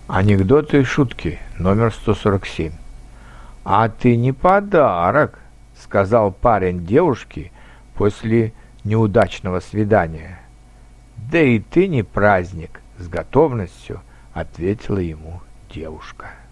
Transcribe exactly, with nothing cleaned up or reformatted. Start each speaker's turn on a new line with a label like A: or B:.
A: Анекдоты и шутки номер сто сорок семь. «А ты не подарок», — сказал парень девушке после неудачного свидания. «Да и ты не праздник», — с готовностью ответила ему девушка.